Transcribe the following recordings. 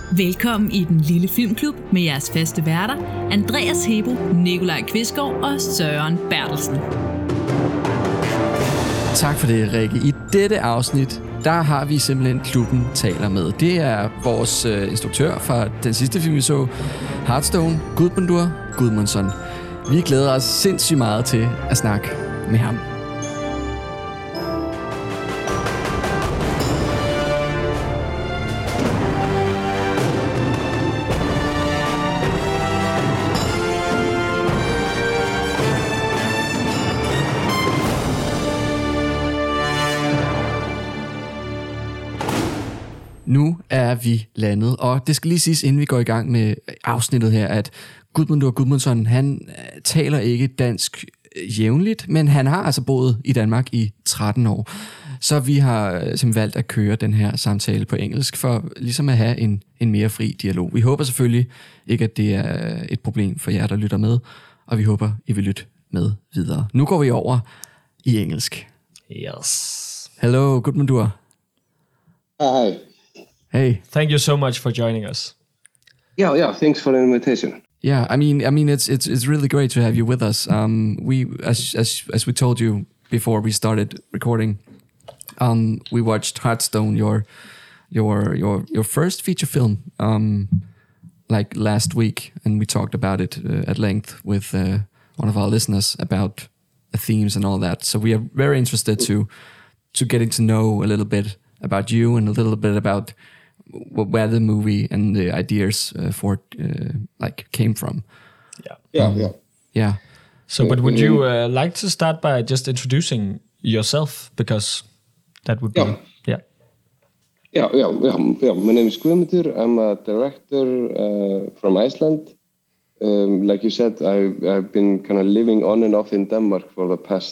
Velkommen i den lille filmklub med jeres faste værter, Andreas Hebo, Nikolaj Kvistgaard og Søren Bertelsen. Tak for det, Rikke. I dette afsnit, der har vi simpelthen Klubben taler med. Det er vores instruktør fra den sidste film, vi så, Hearthstone, Gudmundur Gudmundsson. Vi glæder os sindssygt meget til at snakke med ham. Nu er vi landet, og det skal lige siges, inden vi går i gang med afsnittet her, at Gudmundur Gudmundsson, han taler ikke dansk jævnligt, men han har altså boet i Danmark i 13 år. Så vi har simpelthen valgt at køre den her samtale på engelsk, for ligesom at have en mere fri dialog. Vi håber selvfølgelig ikke, at det er et problem for jer, der lytter med, og vi håber, I vil lytte med videre. Nu går vi over i engelsk. Yes. Hello, Gudmundur. Hi. Hey. Thank you so much for joining us. Yeah. Thanks for the invitation. Yeah, I mean, it's really great to have you with us. We, as we told you before we started recording, we watched Hearthstone, your first feature film, like last week, and we talked about it at length with one of our listeners about the themes and all that. So we are very interested to getting to know a little bit about you and a little bit about where the movie and the ideas for it came from. Yeah. So, but would you like to start by just introducing yourself, because that would be Yeah. My name is Guðmundur. I'm a director from Iceland. Like you said, I've been kind of living on and off in Denmark for the past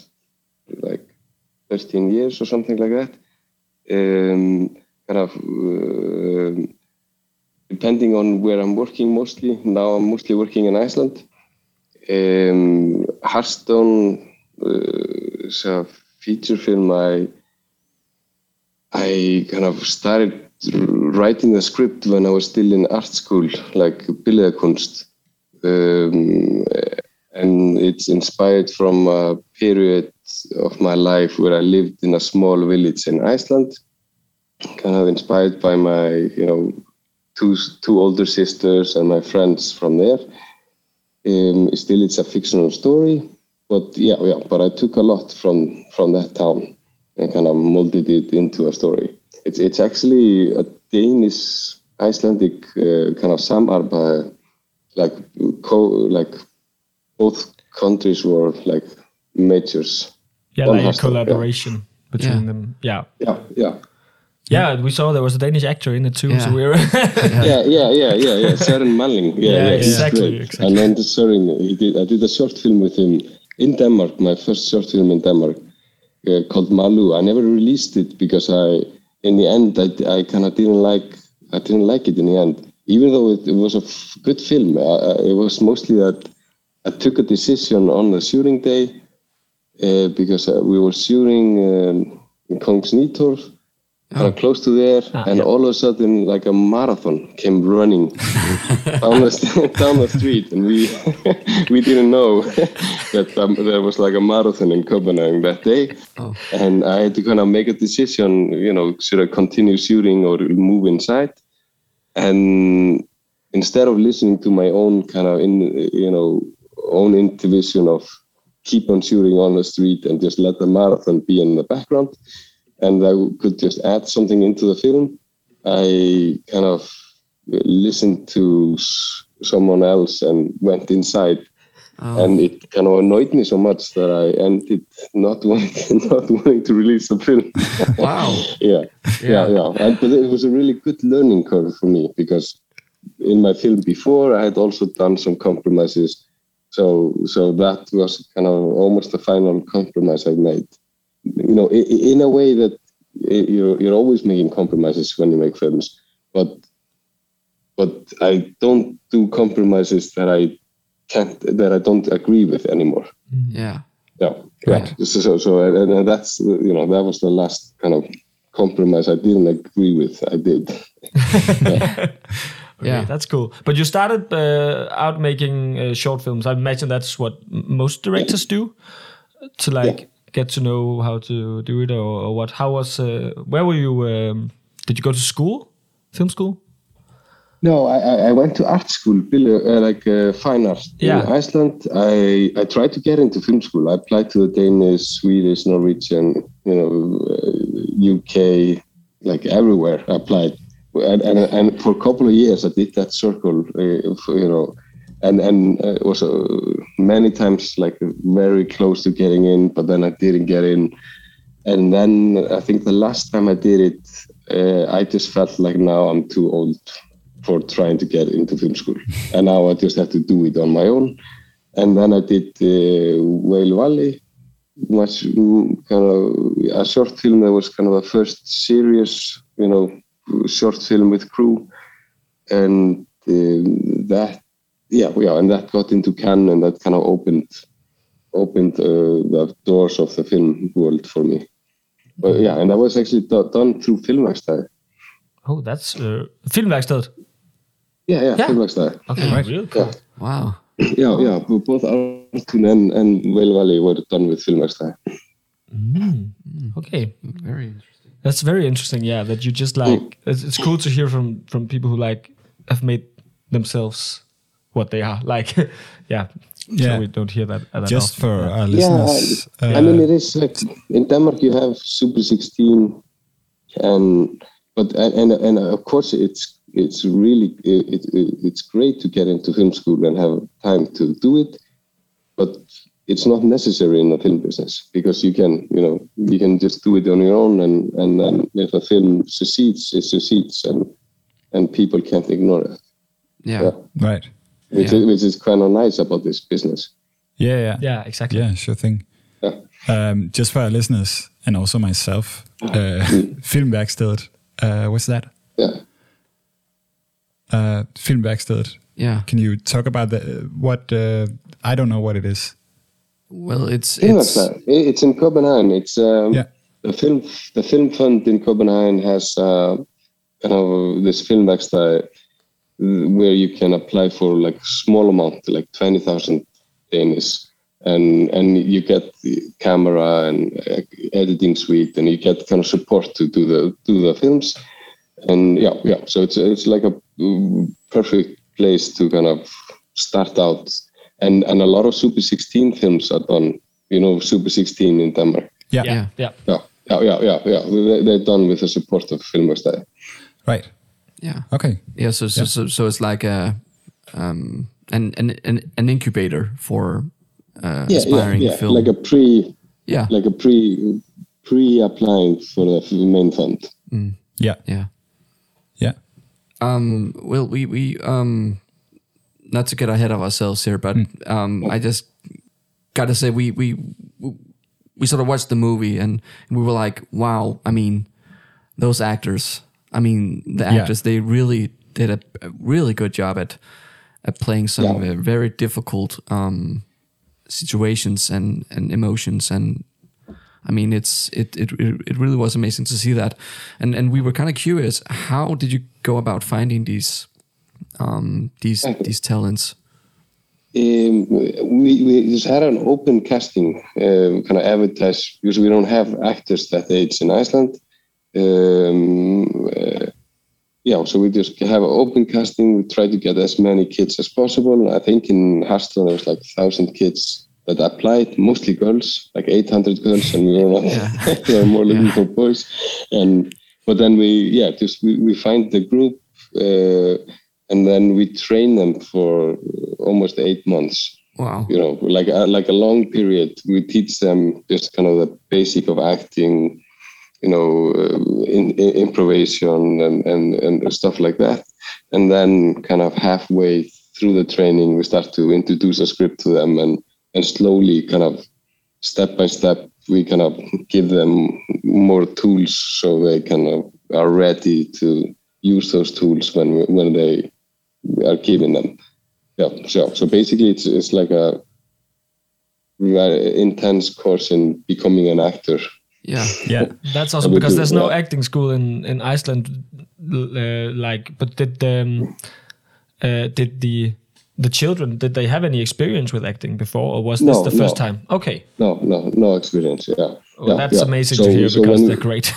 13 years or something like that. Depending on where I'm working mostly. Now I'm mostly working in Iceland. Hearthstone is a feature film. I kind of started writing the script when I was still in art school, like billedkunst. And it's inspired from a period of my life where I lived in a small village in Iceland. Kind of inspired by my, two older sisters and my friends from there. Still, it's a fictional story, but but I took a lot from that town and kind of molded it into a story. It's actually a Danish Icelandic kind of samarbejde, like both countries were like majors. Yeah, like a collaboration between them. Yeah. Yeah, we saw there was a Danish actor in it too, so we were... yeah, Søren Malling. Yeah, exactly. And then Søren, I did a short film with him in Denmark, my first short film in Denmark, called Malu. I never released it because in the end, I kind of didn't like it in the end. Even though it was a good film, it was mostly that I took a decision on the shooting day because we were shooting in Kongens Nytorv, close to there, and all of a sudden, like a marathon came running down the street, and we didn't know that there was like a marathon in Copenhagen that day, and I had to kind of make a decision, should I continue shooting or move inside? And instead of listening to my own kind of own intuition of keep on shooting on the street and just let the marathon be in the background, and I could just add something into the film, I kind of listened to someone else and went inside. And it kind of annoyed me so much that I ended not wanting to release the film. Wow. Yeah. But it was a really good learning curve for me, because in my film before I had also done some compromises. So that was kind of almost the final compromise I made. In a way that you're always making compromises when you make films, but I don't do compromises that I don't agree with anymore. Yeah. Right. So and that's that was the last kind of compromise I didn't agree with. I did. Okay, that's cool. But you started out making short films. I imagine that's what most directors do, to get to know how to do it, or what. How was? Where were you? Did you go to school, film school? No, I went to art school, fine art in Iceland. I tried to get into film school. I applied to the Danish, Swedish, Norwegian, UK, like everywhere. I applied, and for a couple of years I did that circle, and was many times like very close to getting in, but then I didn't get in. And then I think the last time I did it, I just felt like now I'm too old for trying to get into film school, and now I just have to do it on my own. And then I did Whale Valley, a short film that was kind of the first serious, short film with crew, and that got into Cannes, and that kind of opened the doors of the film world for me. But and that was actually done through Filmverkstedet. Oh, that's Filmverkstedet. Yeah. Filmverkstedet. Okay, right. Real cool. Wow. Yeah. Both Artun and Whale Valley were done with Filmverkstedet. Okay. Very interesting. That's very interesting. Yeah, that you just it's cool to hear from people who have made themselves what they are. So we don't hear that just often. For our listeners. I mean, it is like in Denmark you have Super 16, and of course it's really it's great to get into film school and have time to do it, but it's not necessary in the film business, because you can just do it on your own, and then if a film succeeds, it succeeds, and people can't ignore it. Yeah. Right. Which is kind of nice about this business. Yeah, exactly. Yeah, sure thing. Yeah. Just for our listeners and also myself, Filmverkstedet, what's that? Yeah. Filmverkstedet. Yeah. Can you talk about what? I don't know what it is. Well, it's in Copenhagen. It's the film fund in Copenhagen has this Filmverkstedet where you can apply for like small amount, like 20,000 Danish, and you get the camera and editing suite, and you get kind of support to do the films, and so it's like a perfect place to kind of start out, and a lot of Super 16 films are done. Super 16 in Denmark. Yeah. They're done with the support of Filmverkstedet. Right. Yeah. Okay. Yeah. So it's like an incubator for aspiring film. Like a pre-applying for the main fund. Yeah. Well, we not to get ahead of ourselves here, but I just gotta say we sort of watched the movie and we were like, wow. I mean, those actors. I mean, the actors, they really did a really good job at playing some very difficult situations and emotions, and I mean, it really was amazing to see that, and we were kind of curious, how did you go about finding these talents? We just had an open casting, kind of advertised, because we don't have actors that age in Iceland. So we just have an open casting. We try to get as many kids as possible. I think in Haston there was like 1,000 kids that applied, mostly girls, like 800 girls, and we were not. We were more looking for boys. But then we find the group, and then we train them for almost 8 months. Wow. Like a long period. We teach them just kind of the basic of acting, improvisation and stuff like that. And then kind of halfway through the training, we start to introduce a script to them, and slowly kind of step by step, we kind of give them more tools so they kind of are ready to use those tools when they are given them. Yeah. So basically it's like a very intense course in becoming an actor. Yeah. That's awesome, because there's no acting school in Iceland. But did the children, did they have any experience with acting before, or was this the first time? Okay. No experience. Yeah. Well, that's amazing to hear because they're great.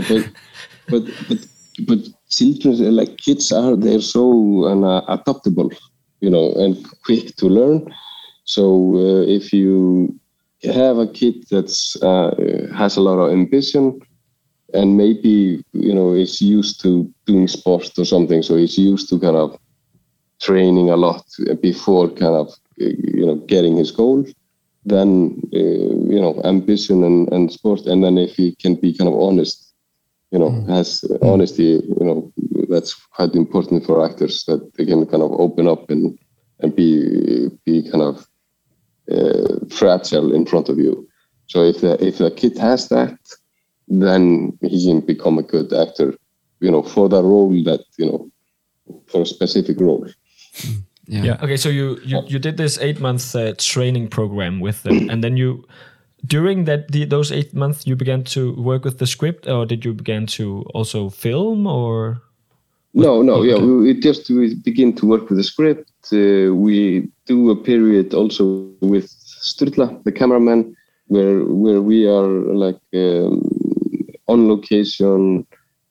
But children, like kids, they're so adaptable, and quick to learn. So if you have a kid that's has a lot of ambition, and maybe is used to doing sport or something, so he's used to kind of training a lot before kind of getting his goal, then ambition and sport, and then if he can be kind of honest, has honesty, that's quite important for actors, that they can kind of open up and be kind of fragile in front of you. So if a kid has that, then he can become a good actor, for the role that, for a specific role. Yeah. Okay, so you did this 8-month training program with them, and then during those 8 months you began to work with the script, or did you begin to also film, or? No. Yeah, we begin to work with the script. We do a period also with Sturla, the cameraman, where we are like on location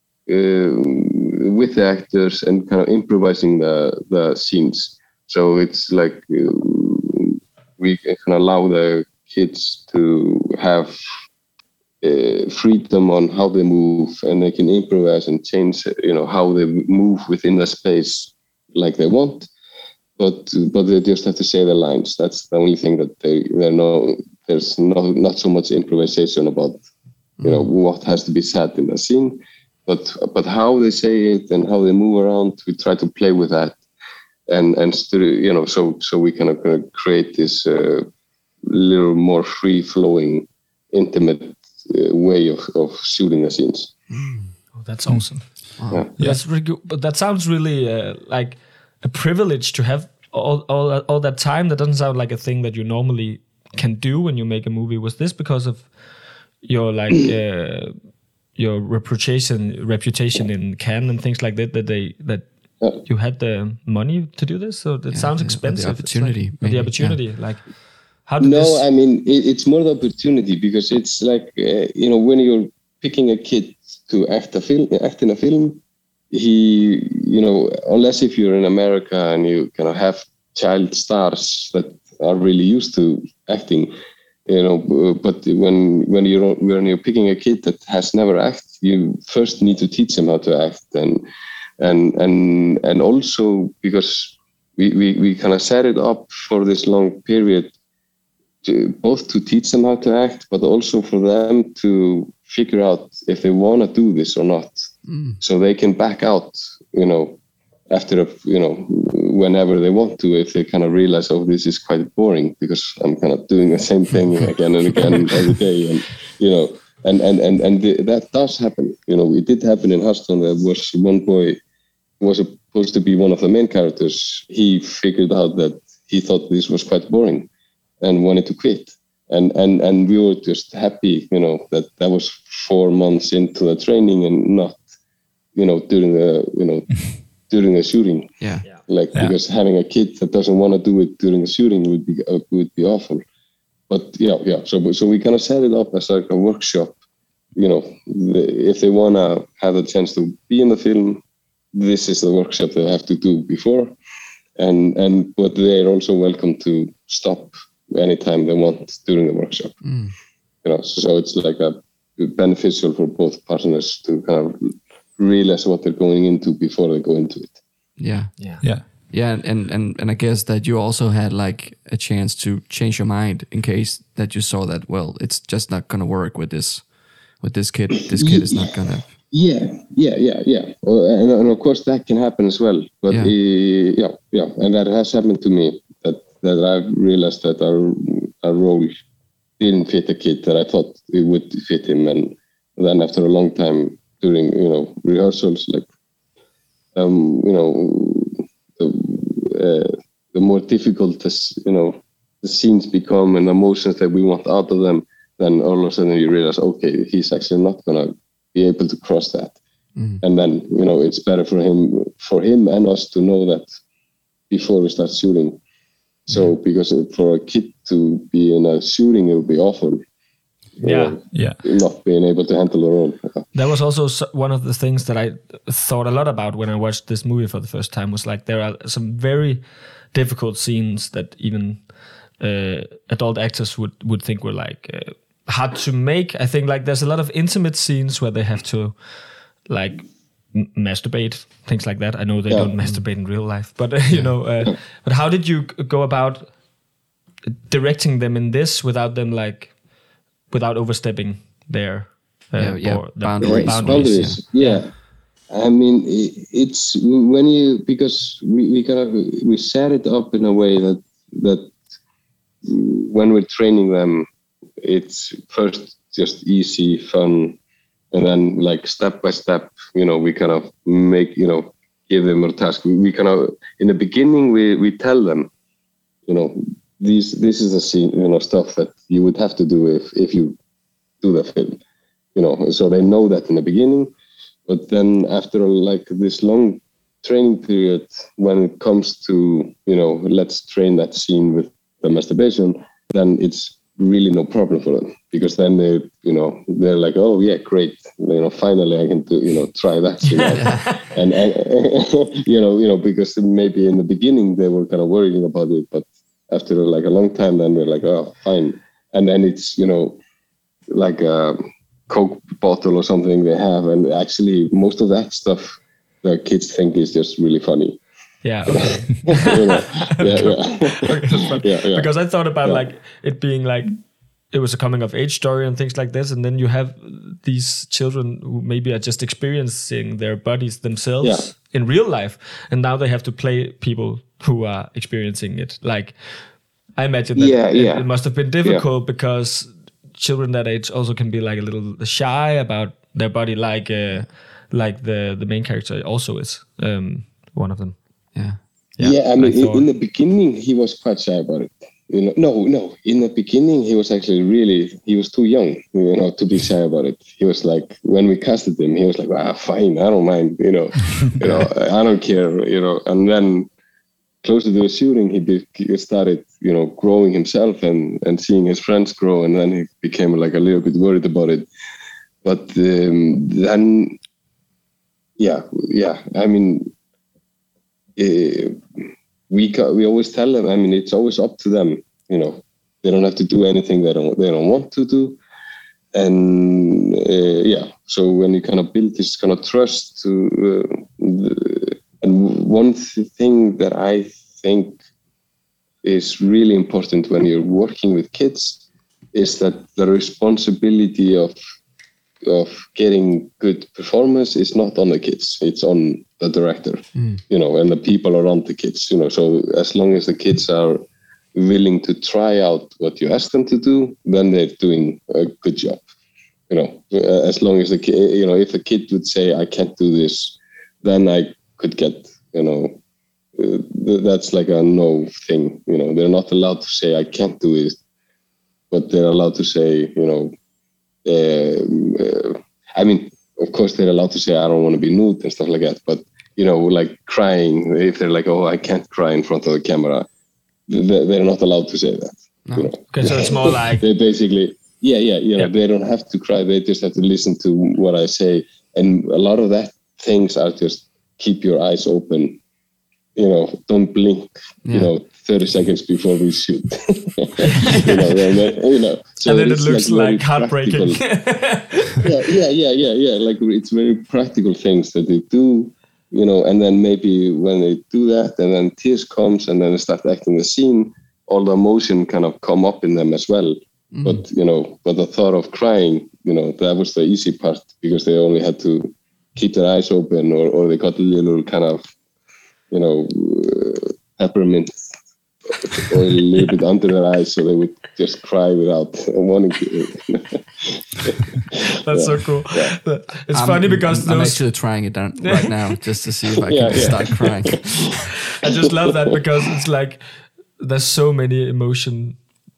with the actors and kind of improvising the scenes. So it's like we can allow the kids to have freedom on how they move, and they can improvise and change, how they move within the space like they want. But they just have to say the lines. That's the only thing that there's not so much improvisation about, what has to be said in the scene, but how they say it and how they move around, we try to play with that, and so we kind of create this little more free flowing, intimate way of shooting the scenes. Oh, that's awesome. Wow. Yeah. That's really good. But that sounds really like a privilege to have all that time. That doesn't sound like a thing that you normally can do when you make a movie. Was this because of your your reputation in Cannes and things like that? That you had the money to do this? So that sounds expensive. The opportunity. The opportunity, like. How did this... I mean, it's more the opportunity, because it's like, when you're picking a kid to act in a film, he, unless if you're in America and you kind of have child stars that are really used to acting, but when you're picking a kid that has never acted, you first need to teach them how to act, and also because we kind of set it up for this long period, both to teach them how to act, but also for them to figure out if they want to do this or not, so they can back out, after whenever they want to, if they kind of realize, oh, this is quite boring because I'm kind of doing the same thing again and again every day, and that does happen. It did happen in Hearthstone. There was one boy who was supposed to be one of the main characters. He figured out that he thought this was quite boring and wanted to quit. And we were just happy, that was 4 months into the training and not, during the shooting. Yeah. Because having a kid that doesn't want to do it during the shooting would be awful. But so we kind of set it up as like a workshop. If they want to have the chance to be in the film, this is the workshop they have to do before. But they're also welcome to stop anytime they want during the workshop. So it's like a beneficial for both partners to kind of realize what they're going into before they go into it. Yeah, and I guess that you also had like a chance to change your mind in case that you saw that, well, it's just not gonna work with this kid. This kid is not gonna. Yeah. And of course that can happen as well. But and that has happened to me. That I've realized that our role didn't fit the kid that I thought it would fit him, and then after a long time during rehearsals, like the more difficult the scenes become and the emotions that we want out of them, then all of a sudden you realize, okay, he's actually not gonna be able to cross that, and then it's better for him and us to know that before we start shooting. So because for a kid to be in a shooting, it would be awful. Not being able to handle their own. That was also one of the things that I thought a lot about when I watched this movie for the first time, was like there are some very difficult scenes that even adult actors would think were like hard to make. I think like there's a lot of intimate scenes where they have to like masturbate, things like that. I know they don't masturbate in real life, but but how did you go about directing them in this without them without overstepping their boundaries? Yeah. I mean, it's when because we set it up in a way that when we're training them, it's first just easy, fun, and then like step by step, we kind of make, give them a task. We kind of, in the beginning, we tell them, this is a scene, stuff that you would have to do if you do the film, so they know that in the beginning. But then after like this long training period, when it comes to, let's train that scene with the masturbation, then it's really no problem for them, because then they're like, oh yeah, great, finally I can do, try that scene. and because maybe in the beginning they were kind of worrying about it, but after like a long time, then they're like, oh, fine. And then it's, like a Coke bottle or something they have, and actually most of that stuff the kids think is just really funny. Yeah. Okay. Okay, because I thought about like it being like it was a coming of age story and things like this, and then you have these children who maybe are just experiencing their bodies themselves in real life, and now they have to play people who are experiencing it. Like I imagine that it must have been difficult because children that age also can be like a little shy about their body, like the main character also is one of them. I mean, in the beginning he was quite shy about it. No. In the beginning he was actually he was too young, to be shy about it. He was like, when we casted him, he was like, fine, I don't mind, I don't care, And then closer to the shooting, he started, growing himself and seeing his friends grow, and then he became like a little bit worried about it. But then, I mean, we always tell them, I mean, it's always up to them, they don't have to do anything they don't want to do. And so when you kind of build this kind of trust and one thing that I think is really important when you're working with kids is that the responsibility of getting good performance is not on the kids, it's on the director, and the people around the kids, so as long as the kids are willing to try out what you ask them to do, then they're doing a good job, as long as the kid, if the kid would say, I can't do this, then I could get, that's like a no thing, they're not allowed to say, I can't do it, but they're allowed to say, I mean, of course they're allowed to say, I don't want to be nude and stuff like that, but like crying, if they're like, oh, I can't cry in front of the camera, they're not allowed to say that. No. Okay, so it's more like they basically, they don't have to cry, they just have to listen to what I say, and a lot of that things are just keep your eyes open, don't blink, 30 seconds before we shoot. So and then it looks like heartbreaking. Like it's very practical things that they do, and then maybe when they do that, and then tears comes, and then they start acting the scene, all the emotion kind of come up in them as well. But the thought of crying, that was the easy part, because they only had to keep their eyes open, or they got a little kind of, peppermint or a little bit under their eyes, so they would just cry without wanting to. That's so cool. Yeah. It's funny because I'm actually trying it down right now just to see if I can start crying. I just love that because it's like there's so many emotional.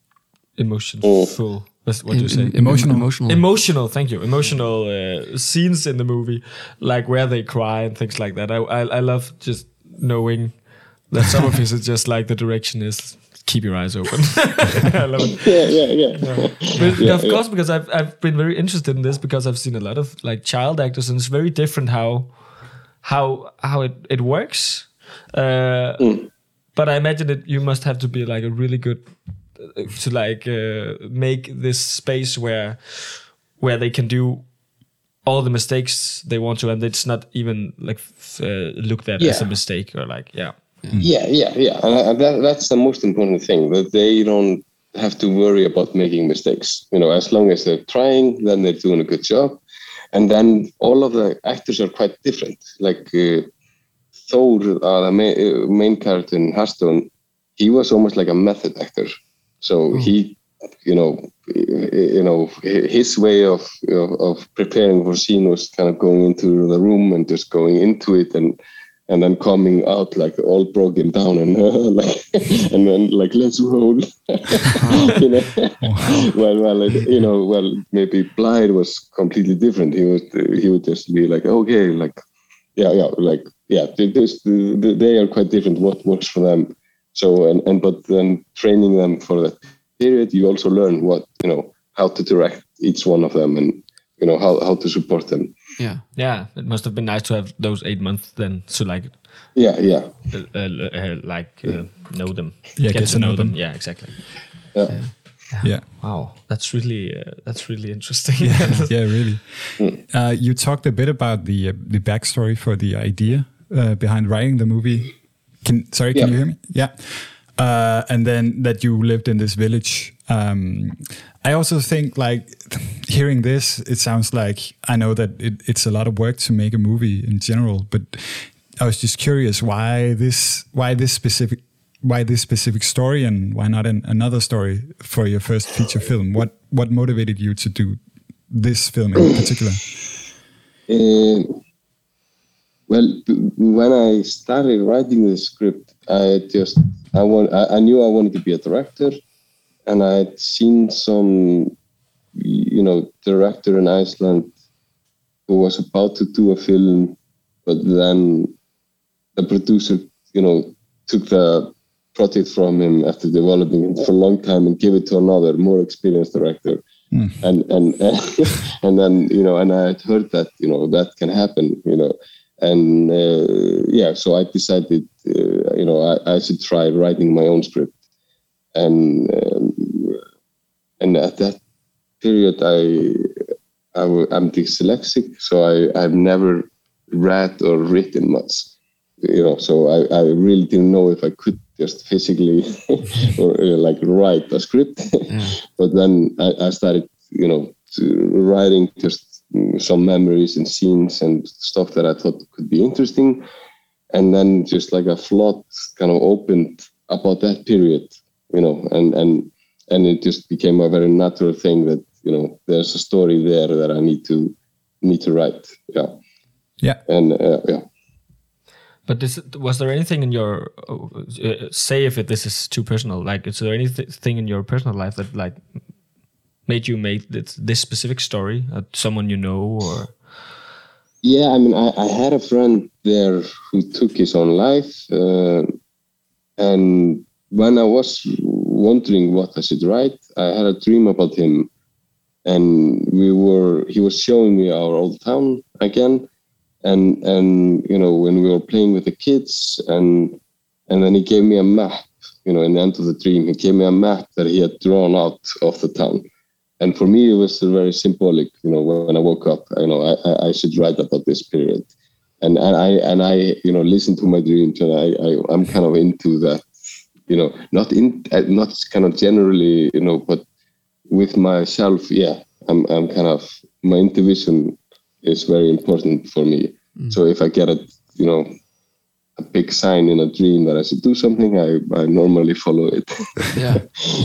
What do you say? Emotional. Thank you. Emotional scenes in the movie, like where they cry and things like that. I love just knowing That some of it is just like the direction is keep your eyes open. I love it. Yeah. But of course, because I've been very interested in this because I've seen a lot of like child actors, and it's very different how it works. But I imagine that you must have to be like a really good to like make this space where they can do all the mistakes they want to, and it's not even like looked at as a mistake or like Yeah. And that's the most important thing, that they don't have to worry about making mistakes. As long as they're trying, then they're doing a good job. And then all of the actors are quite different. Like Thor, the main character in Hearthstone, he was almost like a method actor. So he, his way of preparing for scene was kind of going into the room and just going into it and then coming out like all broken down and and then like let's roll. Well, maybe Blythe was completely different. He would just be like, okay, like they are quite different. What works for them? So but then training them for that period, you also learn how to direct each one of them and how to support them. Yeah. It must have been nice to have those 8 months then to like know them. Yeah, get to know them. Yeah, exactly. Yeah. Wow, that's really interesting. Yeah, really. You talked a bit about the backstory for the idea behind writing the movie. Can you hear me? Yeah. And then that you lived in this village. I also think, like, hearing this, it sounds like, I know that it's a lot of work to make a movie in general, but I was just curious why this specific story, and why not another story for your first feature film? What motivated you to do this film in particular? Well, when I started writing the script, I knew I wanted to be a director, and I had seen some, director in Iceland who was about to do a film, but then the producer, took the project from him after developing it for a long time and gave it to another more experienced director. And then, and I had heard that, that can happen, and so I decided, I should try writing my own script. And at that period, I'm dyslexic, so I've never read or written much, so I really didn't know if I could just physically or write a script. But then I started, writing just some memories and scenes and stuff that I thought could be interesting. And then just like a flood kind of opened about that period, and it just became a very natural thing that, there's a story there that I need to write. Yeah. And But was there anything in your say if this is too personal? Like, is there anything in your personal life that like made you make this specific story? Someone you know, or? Yeah, I mean, I had a friend there who took his own life, and when I was wondering what I should write, I had a dream about him, and he was showing me our old town again. And when we were playing with the kids, and then he gave me a map, in the end of the dream, he gave me a map that he had drawn out of the town. And for me, it was very symbolic, when I woke up, I should write about this period. And I listened to my dreams, and I'm kind of into that, not kind of generally, but with myself, I'm kind of, my intuition is very important for me. So if I get a big sign in a dream that I should do something, I normally follow it. Yeah.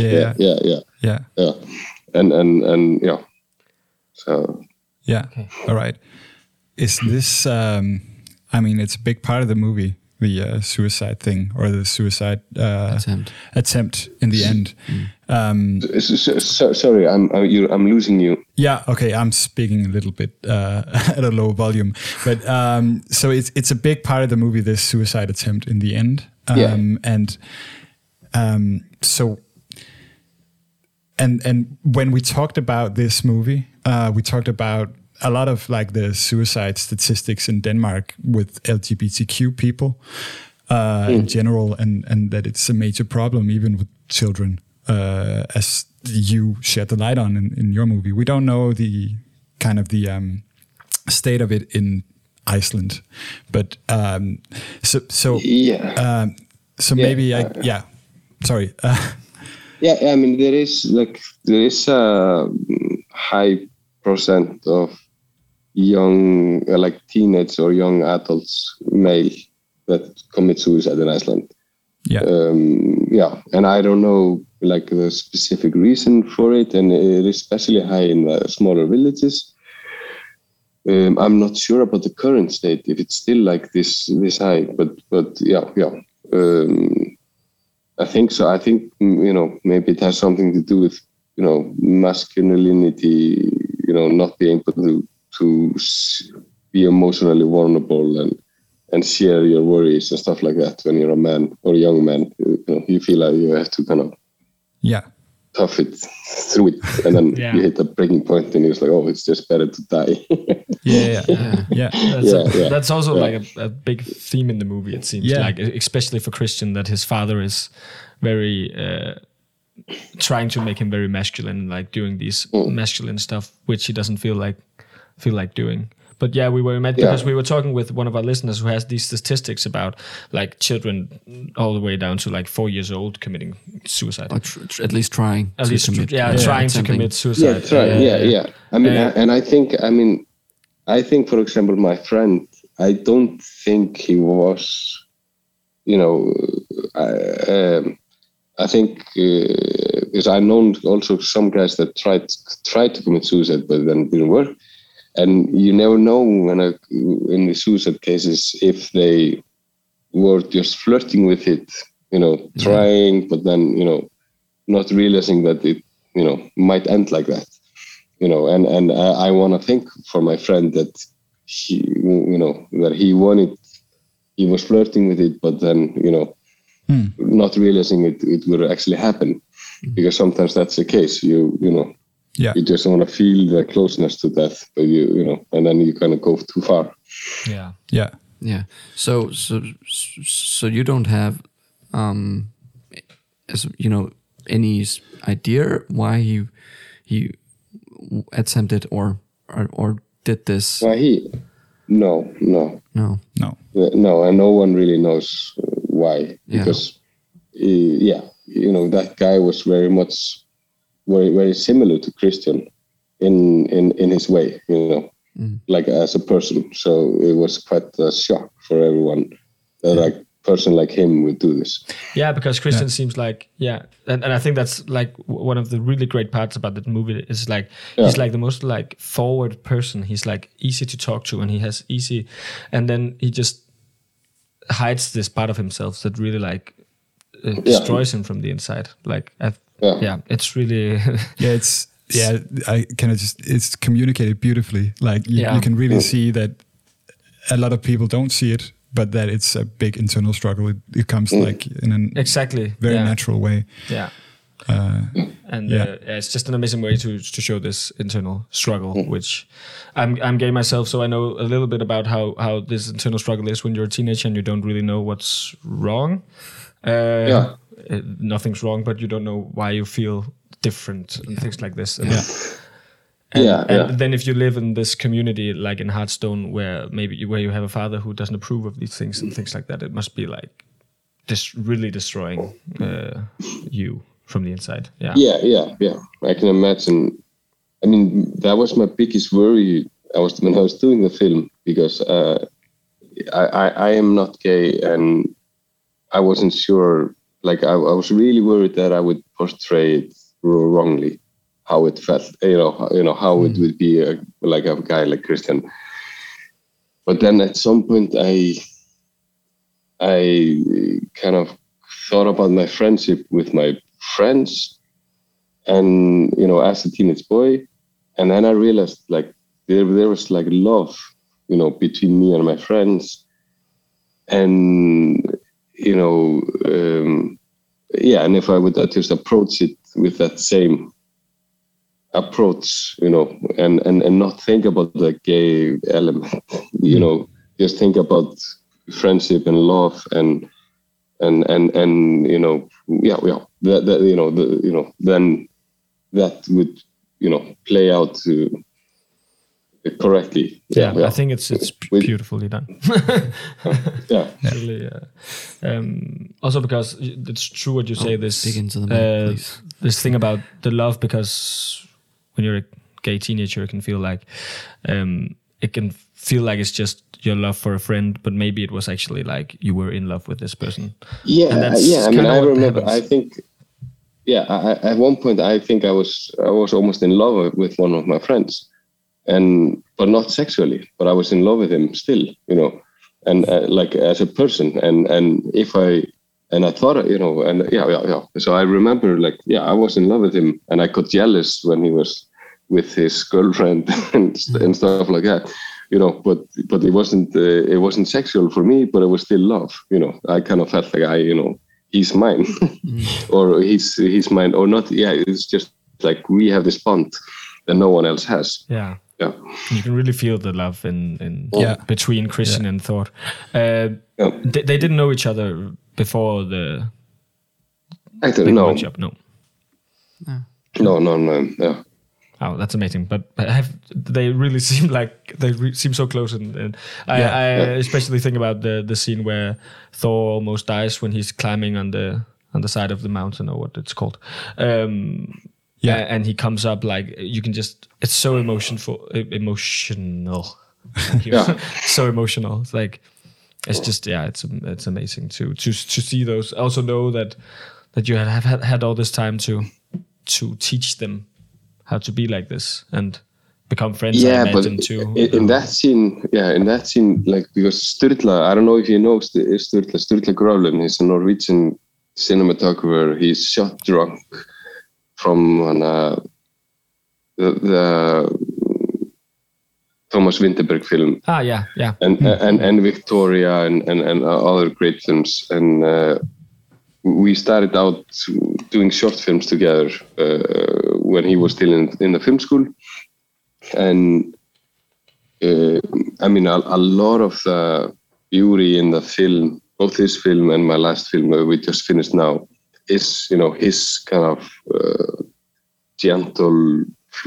And so yeah. Okay. All right. Is this? It's a big part of the movie, the suicide thing, or the suicide attempt in the end. Sorry, I'm losing you. Yeah, okay, I'm speaking a little bit at a low volume, but so it's a big part of the movie, this suicide attempt in the end. And when we talked about this movie, we talked about a lot of like the suicide statistics in Denmark with LGBTQ people in general, and that it's a major problem even with children, as you shed the light on in your movie. We don't know the kind of the state of it in Iceland, but maybe sorry. I mean, there is a high percent of young, like teenage or young adults, male, that commit suicide in Iceland. And I don't know like the specific reason for it, and it is especially high in the smaller villages. I'm not sure about the current state, if it's still like this high, but I think so. I think, maybe it has something to do with, masculinity, not being able to be emotionally vulnerable and share your worries and stuff like that. When you're a man or a young man, you feel like you have to kind of tough it through it, and then you hit a breaking point, and it's like, oh, it's just better to die. That's also like a big theme in the movie. It seems like, especially for Christian, that his father is very trying to make him very masculine, like doing these masculine stuff, which he doesn't feel like doing. But we were met because we were talking with one of our listeners who has these statistics about like children all the way down to like 4 years old committing suicide, or at least trying to commit suicide. I mean, and I think, for example, my friend, I don't think he was, I think because I know also some guys that tried to commit suicide, but then it didn't work. And you never know in the suicide cases if they were just flirting with it, trying, but then, not realizing that it, might end like that, and I want to think for my friend that he, that he was flirting with it, but then, not realizing it would actually happen, because sometimes that's the case. You you just want to feel the closeness to death, but and then you kind of go too far. So you don't have, any idea why he attempted or did this? Why no, and no one really knows why, because that guy was very much very similar to Christian in his way, like as a person. So it was quite a shock for everyone that a person like him would do this. Yeah, because Christian seems like, and I think that's like one of the really great parts about the movie is like, he's like the most like forward person. He's like easy to talk to, and he has easy, and then he just hides this part of himself that really like destroys him from the inside. Like, it's really it's communicated beautifully. Like you can really see that a lot of people don't see it, but that it's a big internal struggle. It comes like in an very natural way. It's just an amazing way to show this internal struggle, which I'm gay myself, so I know a little bit about how this internal struggle is when you're a teenager and you don't really know what's wrong. Nothing's wrong, but you don't know why you feel different and things like this. And then if you live in this community like in Hearthstone, where you have a father who doesn't approve of these things and things like that, it must be like really destroying you from the inside. I can imagine. I mean, that was my biggest worry when I was doing the film, because I am not gay, and I wasn't sure. Like I was really worried that I would portray it wrongly, how it felt, how it would be like a guy like Christian. But then at some point I kind of thought about my friendship with my friends, and as a teenage boy, and then I realized like there was like love, between me and my friends, and and if I would just approach it with that same approach, and not think about the gay element, just think about friendship and love and then that would play out correctly. I think it's beautifully done. Really, also because it's true what you say. This dig into the mic, please. This thing about the love, because when you're a gay teenager, it can feel like it's just your love for a friend, but maybe it was actually like you were in love with this person. I remember. Happens. I think. At one point, I think I was almost in love with one of my friends, but not sexually. But I was in love with him still, and like as a person. And if I thought, So I remember, I was in love with him, and I got jealous when he was with his girlfriend and stuff like that. But it wasn't sexual for me, but it was still love. I kind of felt like he's mine, or he's mine, or not. Yeah, it's just like we have this bond that no one else has. Yeah. You can really feel the love in between Christian and Thor. They didn't know each other before the workshop. No. Yeah. Oh, that's amazing! But they really seem like seem so close, and I especially think about the scene where Thor almost dies when he's climbing on the side of the mountain, or what it's called. And he comes up, like you can just. It's so emotional. So emotional. It's like it's just it's amazing to see those. I also know that you have had all this time to teach them how to be like this and become friends. I imagine too. In that scene, like, because Sturla, I don't know if you know Sturla Grøvlen, he's a Norwegian cinematographer. He's shot drunk from the Thomas Vinterberg film. Yeah. And Victoria and other great films. And we started out doing short films together when he was still in the film school. And a lot of the beauty in the film, both this film and my last film we just finished now, is his kind of gentle,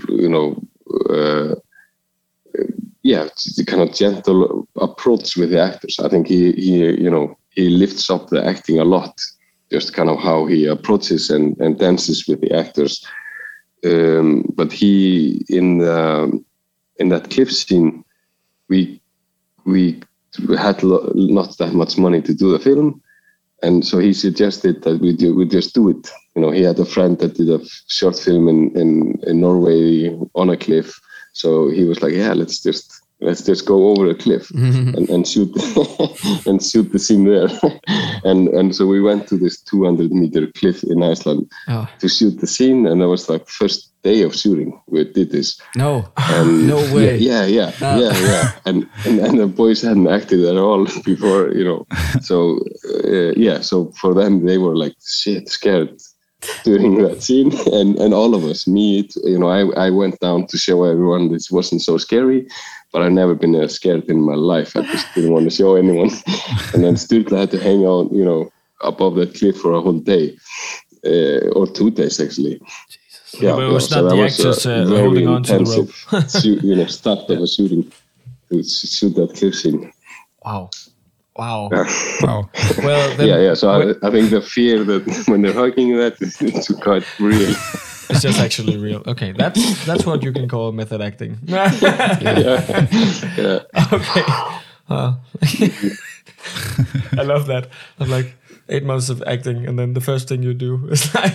the kind of gentle approach with the actors. I think he lifts up the acting a lot, just kind of how he approaches and dances with the actors. But he in that cliff scene, we had not that much money to do the film, and so he suggested that we just do it. He had a friend that did a short film in Norway on a cliff, so he was like, let's just go over a cliff and shoot and shoot the scene there. and so we went to this 200-meter cliff in Iceland to shoot the scene, and that was like first day of shooting we did this. No way. Yeah. And the boys hadn't acted at all before, So so for them they were like shit scared during that scene, and all of us, I went down to show everyone this wasn't so scary, but I've never been scared in my life. I just didn't want to show anyone. And then Sturla had to hang out, above that cliff for a whole day, or 2 days actually. Jesus. But it was not the actors holding on to the rope. Start of a shooting to shoot that cliff scene. Wow. Wow. Well, then, So I think the fear that when they're hugging that is quite real. It's just actually real. Okay, that's what you can call method acting. Okay. I love that. I'm like 8 months of acting, and then the first thing you do is like,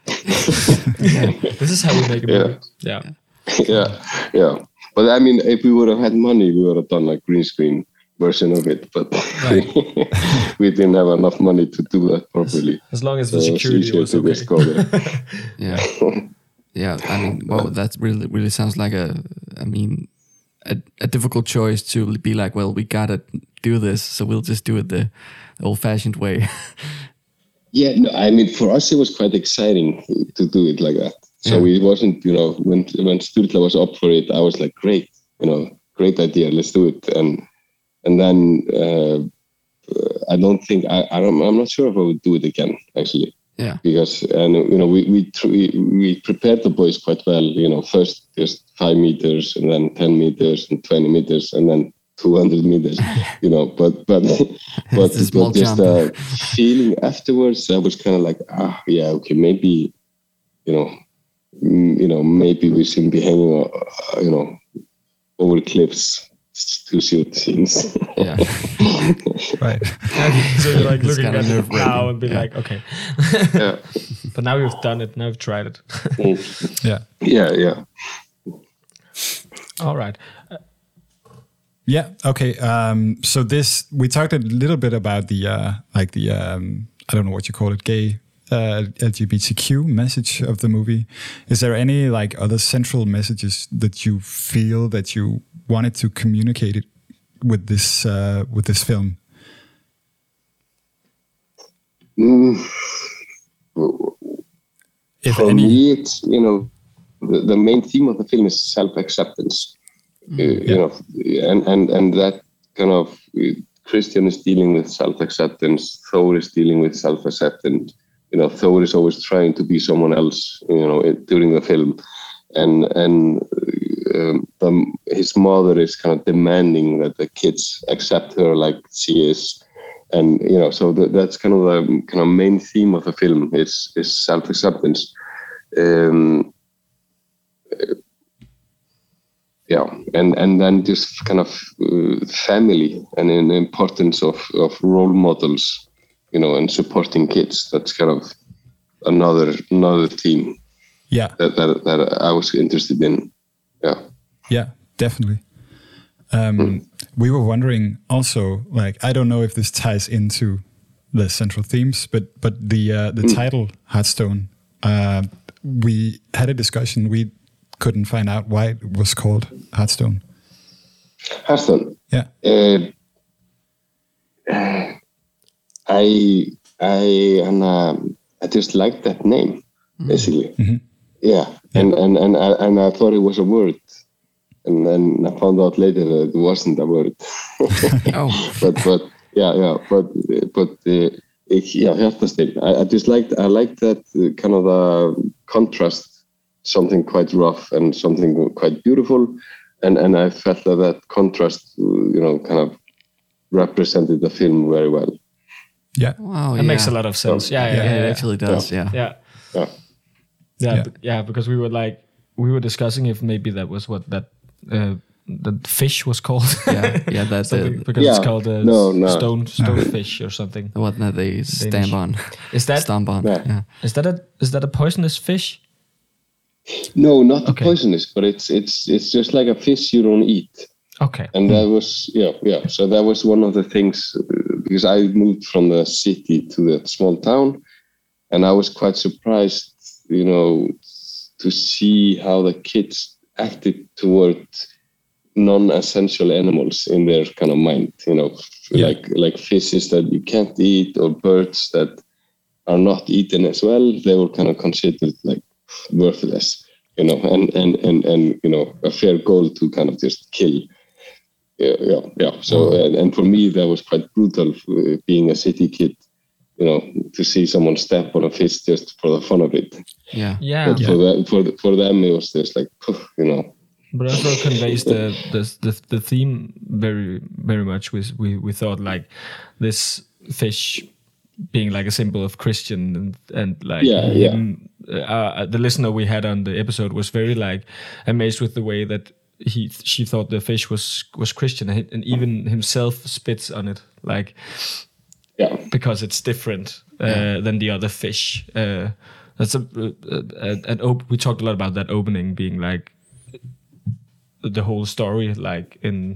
this is how we make a movie. Yeah. But I mean, if we would have had money, we would have done like green screen version of it, but we didn't have enough money to do that properly. As long as the security was okay. Yeah. I mean, well, that really sounds like a difficult choice to be like, well, we gotta do this, so we'll just do it the old-fashioned way. Yeah, no, I mean, for us, it was quite exciting to do it like that. So it wasn't, when Sturla was up for it, I was like, great, great idea, let's do it. And then I don't think, I'm not sure if I would do it again, actually. Yeah. Because, we prepared the boys quite well, first just 5 meters and then 10 meters and 20 meters and then 200 meters, but just feeling afterwards, I was kind of like, okay, maybe, maybe we shouldn't be hanging, over cliffs to shoot scenes. Yeah. Right. So you're like looking at it nerve-wracking. now and be like, okay. Yeah. But now you've done it. Now you've tried it. Yeah. Yeah. All right. Yeah. Okay. So we talked a little bit about the I don't know what you call it, gay LGBTQ message of the movie. Is there any other central messages that you feel that you wanted to communicate it with this film? If For any, me, it's the main theme of the film is self-acceptance. And that kind of Christian is dealing with self-acceptance. Thor is dealing with self-acceptance. Thor is always trying to be someone else. During the film, and his mother is kind of demanding that the kids accept her like she is, and so that's kind of the main theme of the film is self-acceptance. And then just kind of family and the importance of role models, and supporting kids. That's kind of another theme. Yeah. That I was interested in. Yeah. Yeah, definitely. We were wondering also, I don't know if this ties into the central themes, but the title Hearthstone. We had a discussion. We couldn't find out why it was called Hearthstone. Hearthstone. Yeah. I just liked that name, basically. Mm-hmm. Yeah. And I thought it was a word, and then I found out later that it wasn't a word. Oh. but Hjartasteinn. I liked that kind of the contrast. Something quite rough and something quite beautiful, and I felt that contrast, kind of represented the film very well. Yeah. Wow. That makes a lot of sense. Yeah, It actually does. Yeah. Because we were discussing if maybe that was what that the fish was called. Yeah. That's because it's called stonefish or something. the one that they stamp on. Is that Stomp on? Yeah. Yeah. is that a poisonous fish? No, not poisonous, but it's just like a fish you don't eat. Okay. And that was So that was one of the things, because I moved from the city to the small town, and I was quite surprised, to see how the kids acted toward non-essential animals in their kind of mind. Like fishes that you can't eat or birds that are not eaten as well. They were kind of considered like worthless, and a fair goal to kind of just kill. So and for me that was quite brutal, being a city kid, to see someone step on a fish just for the fun of it. But for them it was just like, But also conveys the theme very very much. We thought like this fish being like a symbol of Christian and the listener we had on the episode was very like amazed with the way that she thought the fish was Christian, and even himself spits on it because it's different than the other fish. That's we talked a lot about that opening being like the whole story, like in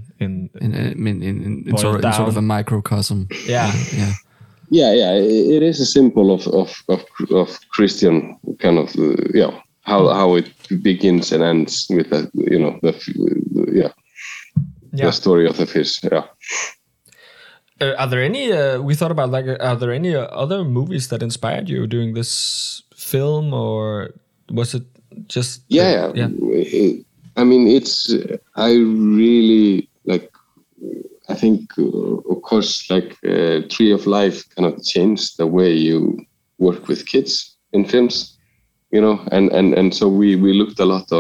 sort of a microcosm. Yeah. It is a symbol of Christian kind of how it begins and ends with the story of the fish. Are there any? We thought about are there any other movies that inspired you doing this film, or was it just? Yeah. I mean, I really like. I think, of course, like Tree of Life kind of changed the way you work with kids in films, and so we looked a lot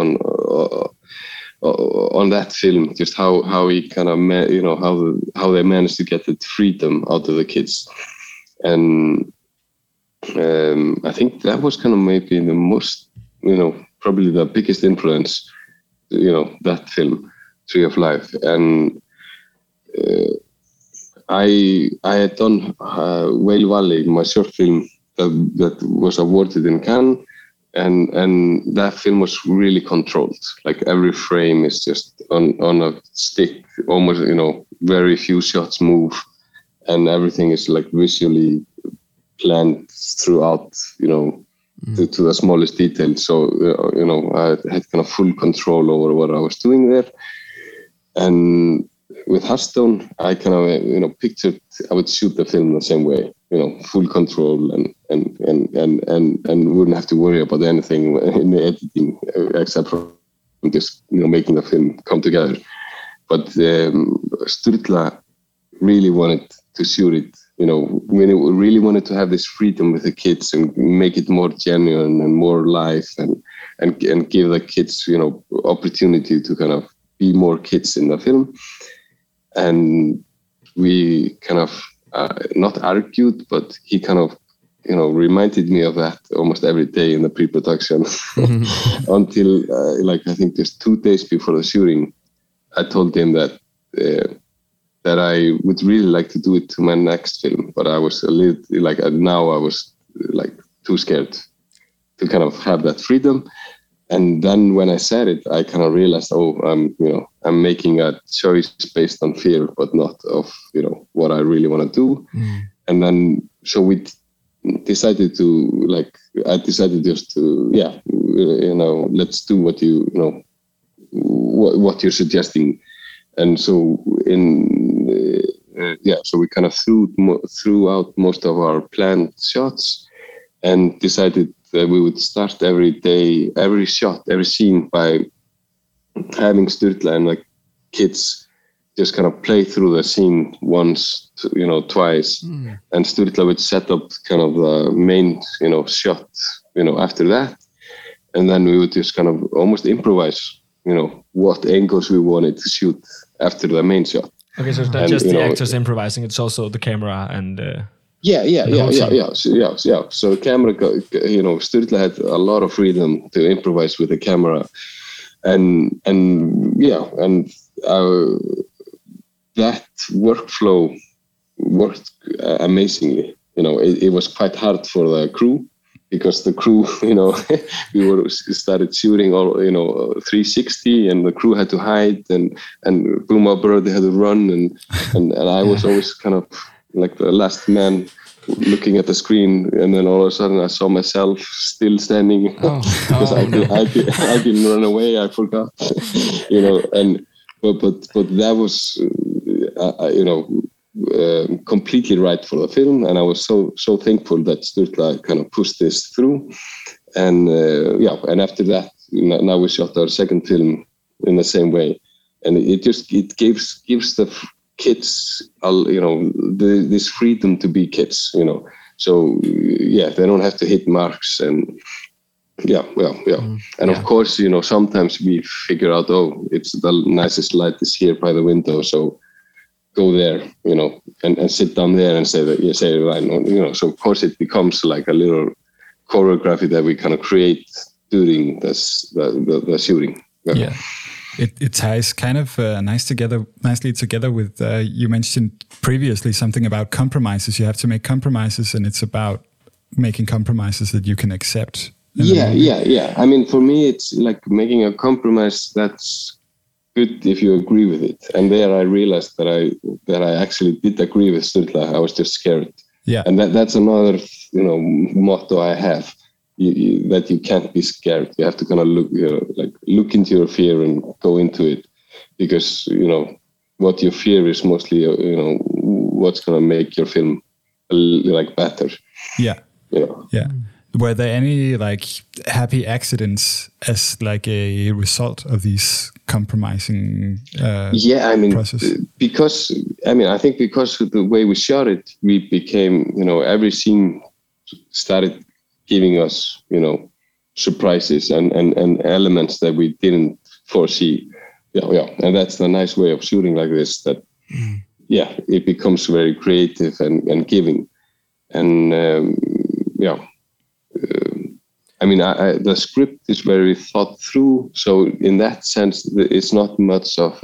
on that film, just how he kind of how they managed to get the freedom out of the kids, and I think that was kind of maybe the most, probably the biggest influence, that film, Tree of Life. And I had done Whale Valley, my short film that was awarded in Cannes, and that film was really controlled. Like every frame is just on a stick, almost, very few shots move, and everything is like visually planned throughout, to the smallest detail. So, I had kind of full control over what I was doing there. And with Hearthstone, I kind of, pictured I would shoot the film the same way, full control and wouldn't have to worry about anything in the editing except for just, making the film come together. But Sturla really wanted to shoot it, we really wanted to have this freedom with the kids and make it more genuine and more live and give the kids, opportunity to kind of be more kids in the film. And we kind of not argued, but he kind of, reminded me of that almost every day in the pre-production until I think just 2 days before the shooting, I told him that I would really like to do it to my next film, but I was a little now I was too scared to kind of have that freedom. And then when I said it, I kind of realized, I'm making a choice based on fear, but not of, what I really want to do. And then, so we decided to, I decided just to, let's do what what you're suggesting. And so so we kind of threw out most of our planned shots and decided that we would start every day, every shot, every scene by having Sturla and kids just kind of play through the scene once, twice. And Sturla would set up kind of the main, shot, after that. And then we would just kind of almost improvise, what angles we wanted to shoot after the main shot. Okay, so it's not just the actors improvising, it's also the camera and... Yeah. So camera, Sturla had a lot of freedom to improvise with the camera, and that workflow worked amazingly. It was quite hard for the crew because the crew, we started shooting all 360, and the crew had to hide, and Boomer Bird had to run, and I was always kind of like the last man looking at the screen, and then all of a sudden I saw myself still standing because I didn't run away. I forgot, but that was completely right for the film, and I was so thankful that Sturla kind of pushed this through, and and after that, now we shot our second film in the same way, and it gives the kids, this freedom to be kids, So they don't have to hit marks, and And of course, sometimes we figure out, it's the nicest light is here by the window, so go there, and sit down there and say the line, So of course it becomes like a little choreography that we kind of create during the shooting. Yeah. It ties kind of nicely together with, you mentioned previously something about compromises. You have to make compromises, and it's about making compromises that you can accept. Yeah. I mean, for me, it's like making a compromise that's good if you agree with it. And there I realized that I actually did agree with Sturla. I was just scared. Yeah. And that's another, motto I have. That you can't be scared. You have to kind of look into your fear and go into it, because what you fear is mostly what's going to make your film like better. Yeah. You know? Yeah. Were there any like happy accidents as like a result of these compromising process? I think because of the way we shot it, we became, every scene started giving us, surprises and elements that we didn't foresee. Yeah. And that's the nice way of shooting like this, that, it becomes very creative and giving. And, the script is very thought through. So in that sense, it's not much of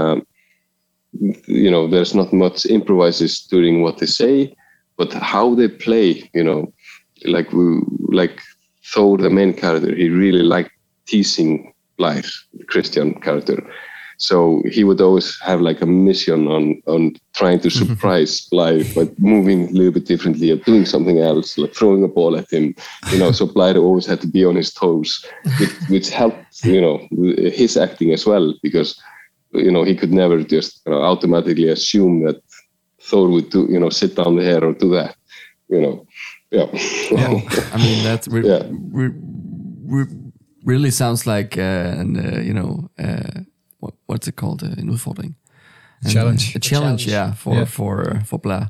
there's not much improvises during what they say, but how they play, like Thor, the main character, he really liked teasing Blær, the Christian character. So he would always have like a mission on trying to surprise Blær by moving a little bit differently or doing something else, like throwing a ball at him. So Blær always had to be on his toes, which helped, his acting as well, because, he could never just automatically assume that Thor would do, sit down there or do that, Yeah. I mean, that really sounds like what's it called? En udfordring. Challenge. A challenge, for Blær.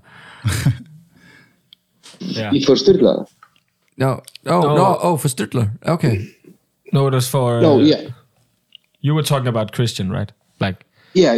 For Sturla? No, for Sturla. Okay. No, it was for... You were talking about Christian, right? Like... Yeah.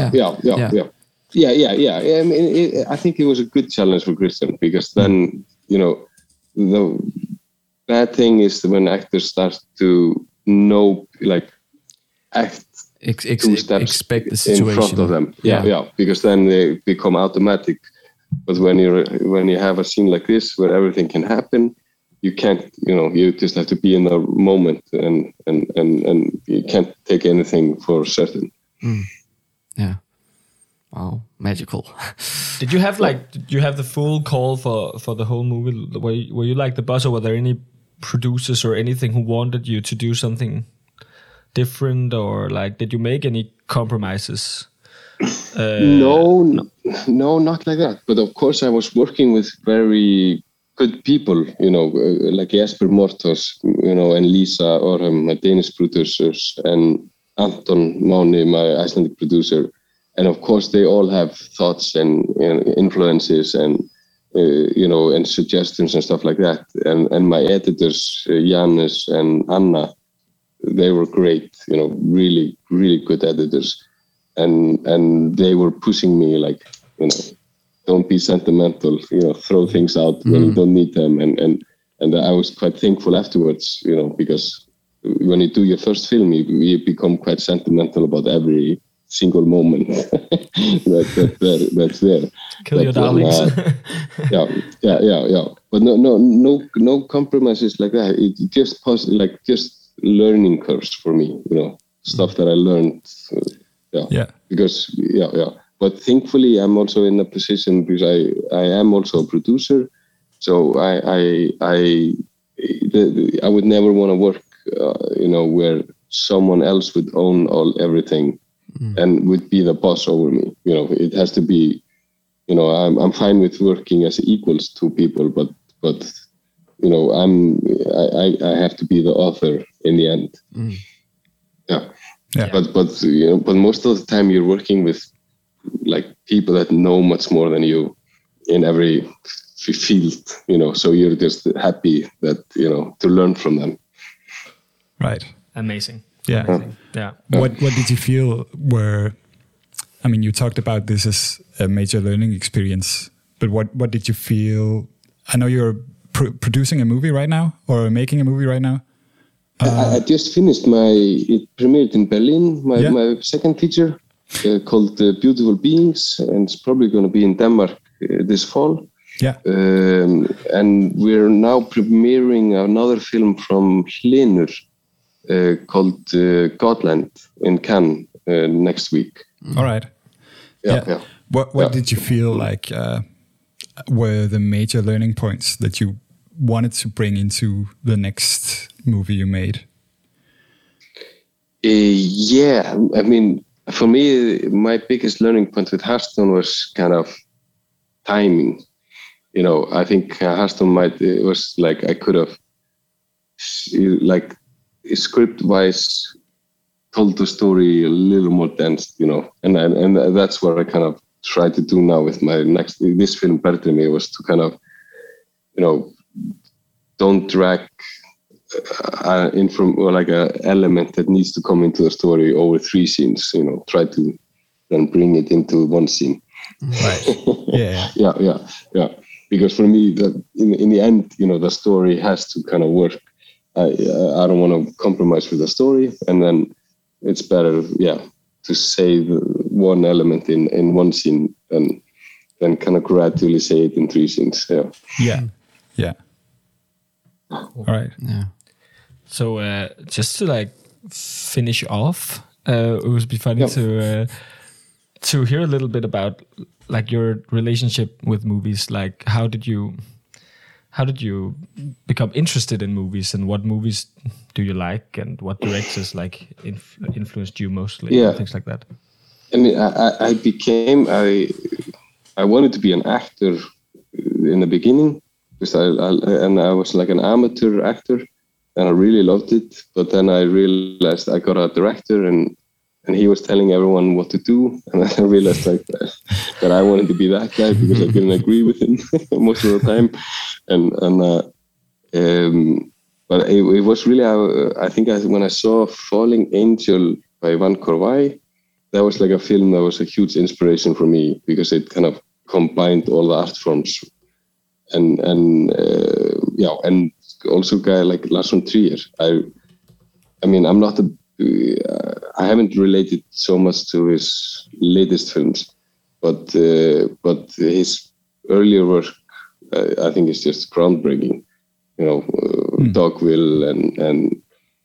I mean, I think it was a good challenge for Christian, because then, the bad thing is when actors start to know, like, act two steps expect the situation in front of them. Yeah, because then they become automatic. But when you have a scene like this where everything can happen, you can't, you just have to be in the moment and you can't take anything for certain. Yeah. Wow, magical. Did you have the full call for the whole movie? Were you like the boss, or were there any producers or anything who wanted you to do something different, or like did you make any compromises? No, not like that. But of course, I was working with very good people, like Jesper Mortos, and Lisa Orhem, my Danish producers, and Anton Máni, my Icelandic producer. And of course, they all have thoughts and influences and and suggestions and stuff like that. And my editors, Janus and Anna, they were great. Really, really good editors. And they were pushing me like, don't be sentimental. Throw things out when you don't need them. And I was quite thankful afterwards. Because when you do your first film, you become quite sentimental about every single moment that's there. Kill your darlings. Yeah. But no compromises like that. It just just learning curves for me. Stuff that I learned. Because But thankfully, I'm also in a position because I am also a producer. So I would never want to work, where someone else would own everything. And would be the boss over me. It has to be, I'm fine with working as equals to people, but I have to be the author in the end. Yeah. But most of the time you're working with like people that know much more than you in every field, so you're just happy that, to learn from them. Right. Amazing. Yeah. Amazing. Yeah. What did you feel you talked about this as a major learning experience, but what did you feel? I know you're producing a movie right now, or making a movie right now. I just finished it premiered in Berlin, my second feature called Beautiful Beings, and it's probably going to be in Denmark this fall. Yeah. And we're now premiering another film from Hlynur, called Godland in Cannes next week. All right. Yeah. What did you feel like were the major learning points that you wanted to bring into the next movie you made? For me, my biggest learning point with Hearthstone was kind of timing. You know, I think Hearthstone it was like I could have, like, script-wise told the story a little more dense, you know, and that's what I kind of try to do now with my this film, Bertrimi, was to kind of, you know, don't drag in from like a element that needs to come into the story over 3 scenes, you know, try to then bring it into 1 scene. Right. Yeah. Because for me, that in the end, you know, the story has to kind of work. I don't want to compromise with the story, and then it's better, to say one element in 1 scene and then kind of gradually say it in 3 scenes. Yeah. All right. Yeah. So just to like finish off, it would be funny to hear a little bit about like your relationship with movies. Like, how did you become interested in movies, and what movies do you like, and what directors like influenced you mostly? And things like that. I mean, I wanted to be an actor in the beginning, because I was like an amateur actor, and I really loved it. But then I realized I got a director, and he was telling everyone what to do, and I realized like that I wanted to be that guy, because I didn't agree with him most of the time. But it was really, I think when I saw Falling Angel by Ivan Korvai, that was like a film that was a huge inspiration for me, because it kind of combined all the art forms, and also a guy like Lars von Trier. I mean, I haven't related so much to his latest films, but his earlier work, I think, is just groundbreaking. You know, Dogville and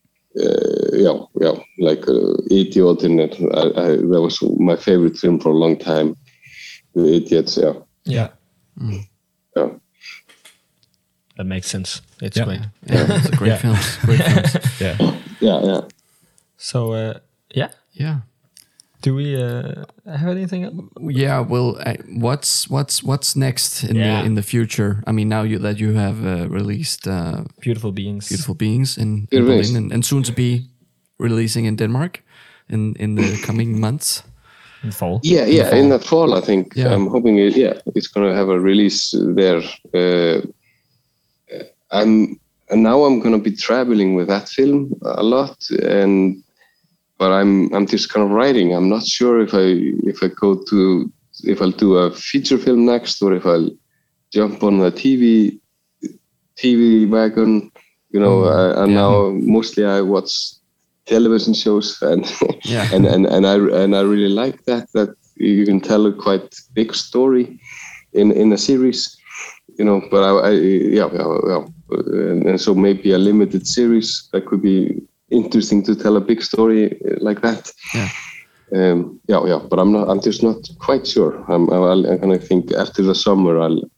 like Idiot, and that was my favorite film for a long time. The Idiots, Yeah. Yeah. That makes sense. It's Yeah. great. Yeah, it's a great film. Great films. Yeah. So Yeah. do we have anything else? Yeah. Well, what's next in the future? I mean, now that you have released Beautiful Beings. Beautiful Beings in Berlin, and soon to be releasing in Denmark in the coming months. In fall. In the fall, I think. Yeah. I'm hoping it's going to have a release there. And now I'm going to be traveling with that film a lot, but I'm just kind of writing. I'm not sure if I'll do a feature film next, or if I'll jump on the TV wagon. You know, now mostly I watch television shows, and and I really like that you can tell a quite big story in a series. You know, but and so maybe a limited series that could be interesting to tell a big story like that. But I'm just not quite sure. I'm gonna think after the summer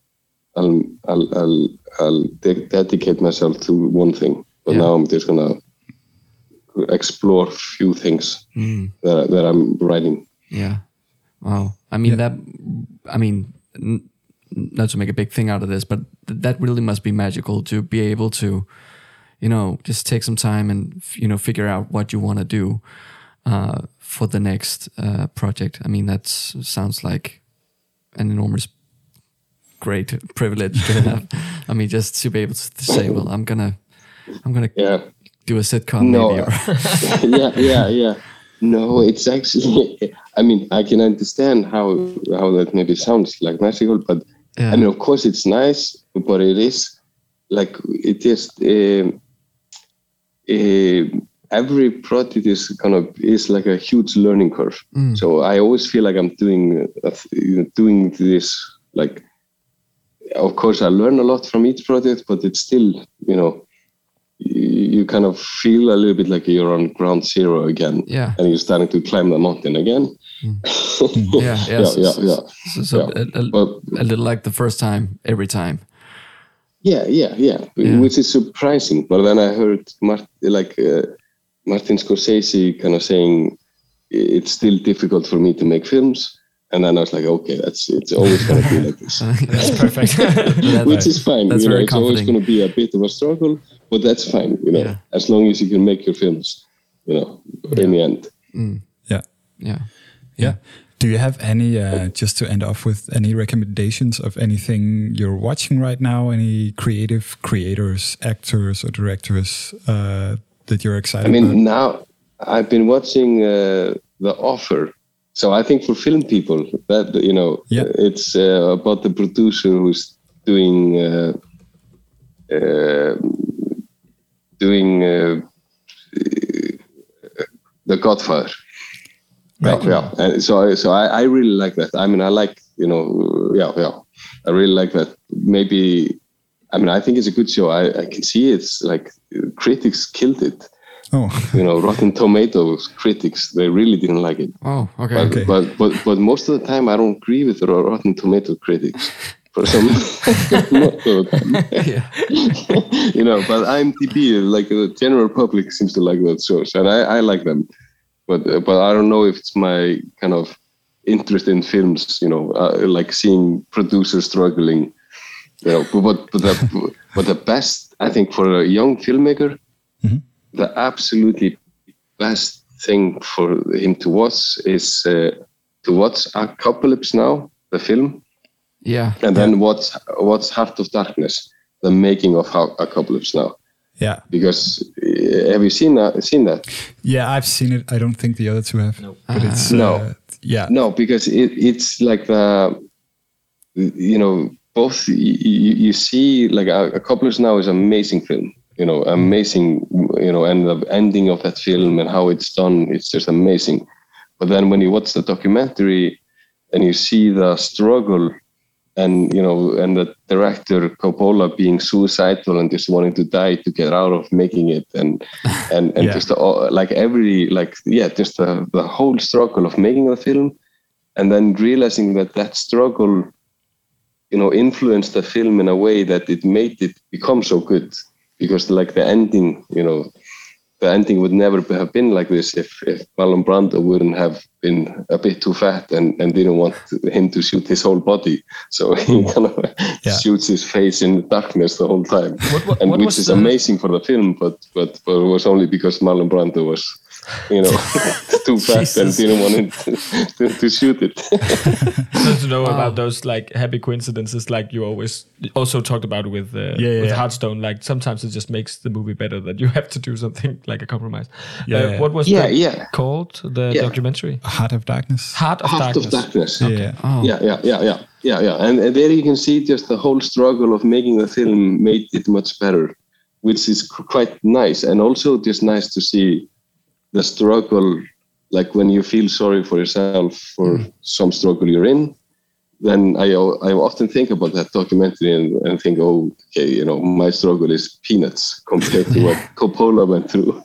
I'll dedicate myself to one thing. But now I'm just gonna explore a few things that I'm writing. Yeah. Wow. I mean, not to make a big thing out of this, but that really must be magical to be able to, you know, just take some time and, you know, figure out what you want to do for the next project. I mean, that sounds like an enormous, great privilege to have. I mean, just to be able to say, well, I'm gonna do a sitcom maybe. Or No, it's actually, I mean, I can understand how that maybe sounds like magical, but I mean, of course it's nice, but it is like, it just, every project is like a huge learning curve. So I always feel like I'm doing this, like, of course I learn a lot from each project, but it's still, you know, you kind of feel a little bit like you're on ground zero again, and you're starting to climb the mountain again. So a little like the first time, every time. Which is surprising. But then I heard Martin Scorsese kind of saying it's still difficult for me to make films, And then I was like, okay, it's always going to be like this. That's perfect. Which is fine. That's It's always going to be a bit of a struggle, but that's fine, as long as you can make your films, in the end. Yeah. Do you have any, just to end off with, any recommendations of anything you're watching right now? Any creative creators, actors or directors that you're excited about? Now I've been watching The Offer. So I think for film people, that it's about the producer who's doing The Godfather. Right. Yeah. And so I really like that. I like I really like that. Maybe I think it's a good show. I can see it's like critics killed it. Oh, Rotten Tomatoes critics, they really didn't like it. Oh, okay. But most of the time, I don't agree with the Rotten Tomato critics. For some, most of the time. But IMDb, like the general public, seems to like that shows, and I like them. But I don't know if it's my kind of interest in films. Like seeing producers struggling. But the best, I think, for a young filmmaker. Mm-hmm. The absolutely best thing for him to watch is to watch Apocalypse Now, the film. Yeah. And then watch Heart of Darkness, the making of Apocalypse Now. Yeah. Because have you seen that? Yeah, I've seen it. I don't think the other two have. No. But it's yeah. No, because it's like both you see like Apocalypse Now is an amazing film. Amazing, and the ending of that film and how it's done, it's just amazing. But then when you watch the documentary and you see the struggle and, and the director Coppola being suicidal and just wanting to die to get out of making it and just just the whole struggle of making the film and then realizing that struggle, influenced the film in a way that it made it become so good. Because like the ending, the ending would never have been like this if Marlon Brando wouldn't have been a bit too fat and didn't want him to shoot his whole body. So he kind of shoots his face in the darkness the whole time. Which is amazing for the film, but it was only because Marlon Brando was, too fat and didn't want him to shoot it. Good to know about those like happy coincidences, like you always also talked about with Hearthstone. Like sometimes it just makes the movie better that you have to do something like a compromise. What was that called? The documentary? Heart of Darkness. Heart of Darkness. Okay. Yeah. And there you can see just the whole struggle of making the film made it much better, which is quite nice. And also just nice to see the struggle, like when you feel sorry for yourself for some struggle you're in, then I often think about that documentary and think, my struggle is peanuts compared to what Coppola went through.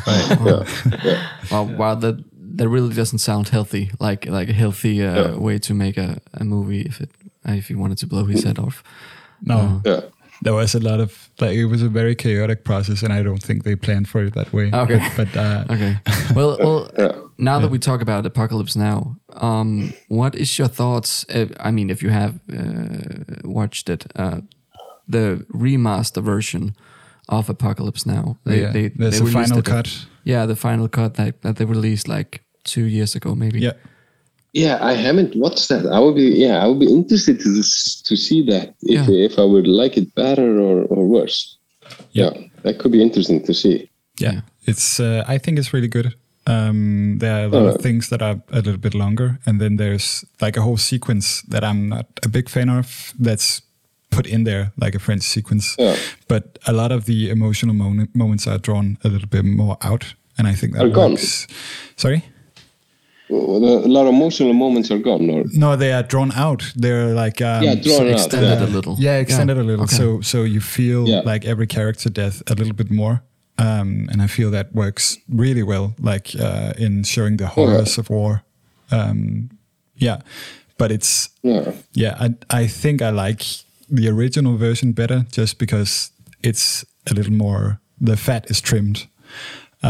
Wow, that really doesn't sound healthy, like a healthy way to make a movie if he wanted to blow his head off. No. There was a lot of it was a very chaotic process, and I don't think they planned for it that way. Okay, okay. Well, now that we talk about Apocalypse Now, what is your thoughts? If you have watched it, the remaster version of Apocalypse Now, there's a final cut. Yeah, the final cut that they released like 2 years ago, maybe. Yeah. Yeah, I haven't watched that. I would be interested to see that if I would like it better or worse. Yeah, that could be interesting to see. Yeah, it's. I think it's really good. There are a lot of things that are a little bit longer, and then there's like a whole sequence that I'm not a big fan of. That's put in there like a French sequence, but a lot of the emotional moments are drawn a little bit more out, and I think that works. Sorry. A lot of emotional moments are gone, or no? They are drawn out. They're like extended a little. Yeah, extended a little. Okay. So you feel like every character death a little bit more, and I feel that works really well, like in showing the horrors of war. But it's I think I like the original version better, just because it's a little more. The fat is trimmed.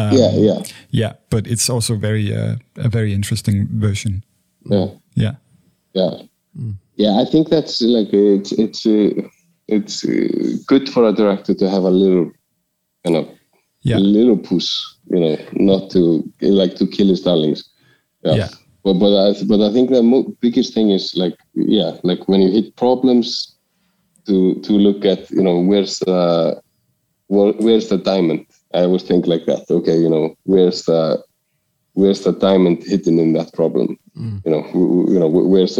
But it's also a very interesting version. Yeah. I think that's like it's good for a director to have a little kind of a little push, not to kill his darlings. But I think the biggest thing is like when you hit problems, to look at where's the diamond. I always think like that. Okay, where's the diamond hidden in that problem? Where's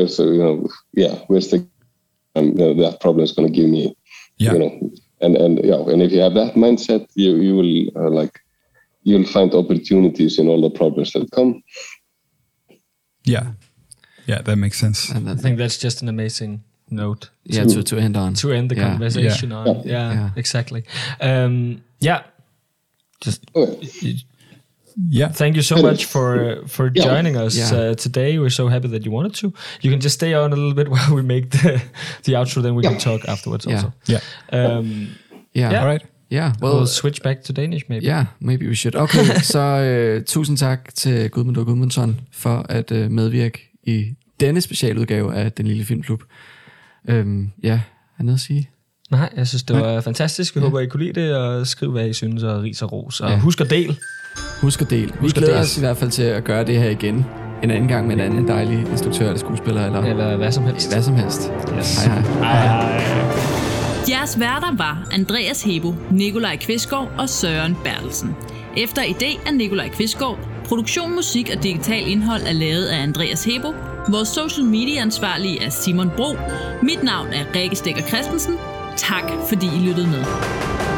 the that problem is going to give me. And if you have that mindset, you will you'll find opportunities in all the problems that come. Yeah, that makes sense. And I think that's just an amazing note. To end on. To end the conversation on. Yeah, exactly. Thank you so much for joining us today. We're so happy that you wanted to. You can just stay on a little bit while we make the outro, then we can talk afterwards also. All right. Yeah, we'll switch back to Danish maybe. Yeah, maybe we should. Okay, så tusind tak til Gudmund og Gudmundsson for at medvirke i denne specialudgave af Den Lille Filmklub. Har noget at sige? Nej, jeg synes, det var fantastisk. Vi håber, I kunne lide det, og skriv, hvad I synes, og ris og ros. Og husk at del. Husk at del. Vi glæder os i hvert fald til at gøre det her igen. En anden gang med en anden dejlig instruktør eller skuespiller. Eller hvad som helst. Hvad som helst. Yes. Hej. Jeres værter var Andreas Hebo, Nikolaj Kvistgaard og Søren Bertelsen. Efter idé af Nikolaj Kvistgaard, produktion, musik og digital indhold er lavet af Andreas Hebo. Vores social media ansvarlige er Simon Bro. Mit navn er Rikke Stikker Christensen. Tak fordi I lyttede med.